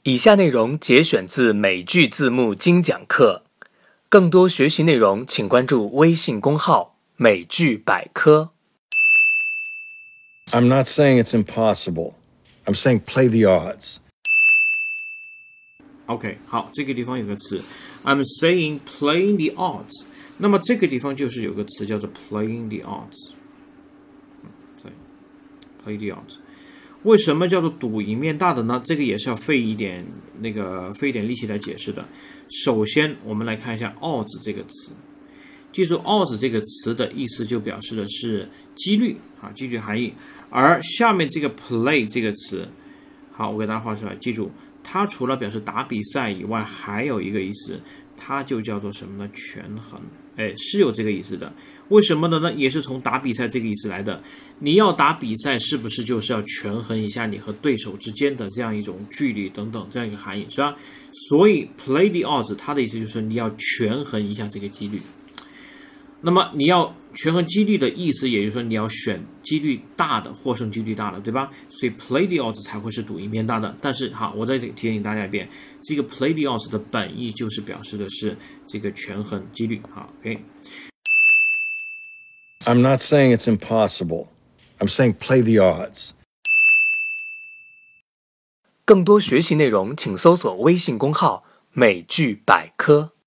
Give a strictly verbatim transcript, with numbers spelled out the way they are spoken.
以下内容节选自美剧字幕精讲课，更多学习内容请关注微信公号美剧百科。 I'm not saying it's impossible. I'm saying play the odds. OK， 好，这个地方有个词 I'm saying playing the odds， 那么这个地方就是有个词叫做 playing the odds， 对 play the odds。为什么叫做赌赢面大的呢？这个也是要费一点那个费一点力气来解释的。首先，我们来看一下 odds 这个词。记住 odds 这个词的意思就表示的是几率啊，几率含义。而下面这个 play 这个词，好，我给大家画出来，记住，它除了表示打比赛以外，还有一个意思，它就叫做什么呢？权衡。哎，是有这个意思的。为什么呢？也是从打比赛这个意思来的。你要打比赛，是不是就是要权衡一下你和对手之间的这样一种距离等等这样一个含义，是吧？所以 play the odds 它的意思就是你要权衡一下这个几率。那么你要权衡几率的意思，也就是说你要选几率大的，获胜几率大的，对吧？所以 play the odds 才会是赌赢面大的。但是好，我再提醒大家一遍，这个 play the odds 的本意就是表示的是这个权衡几率。好 ，OK。 I'm not saying it's impossible. I'm saying play the odds. 更多学习内容请搜索微信公号美剧百科。